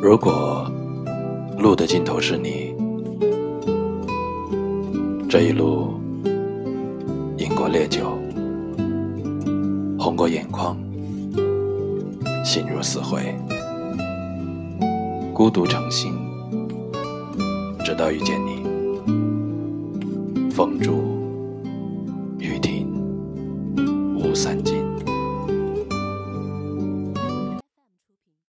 如果路的尽头是你，这一路饮过烈酒，红过眼眶，心如死灰，孤独成行，直到遇见你。风住雨停无散尽。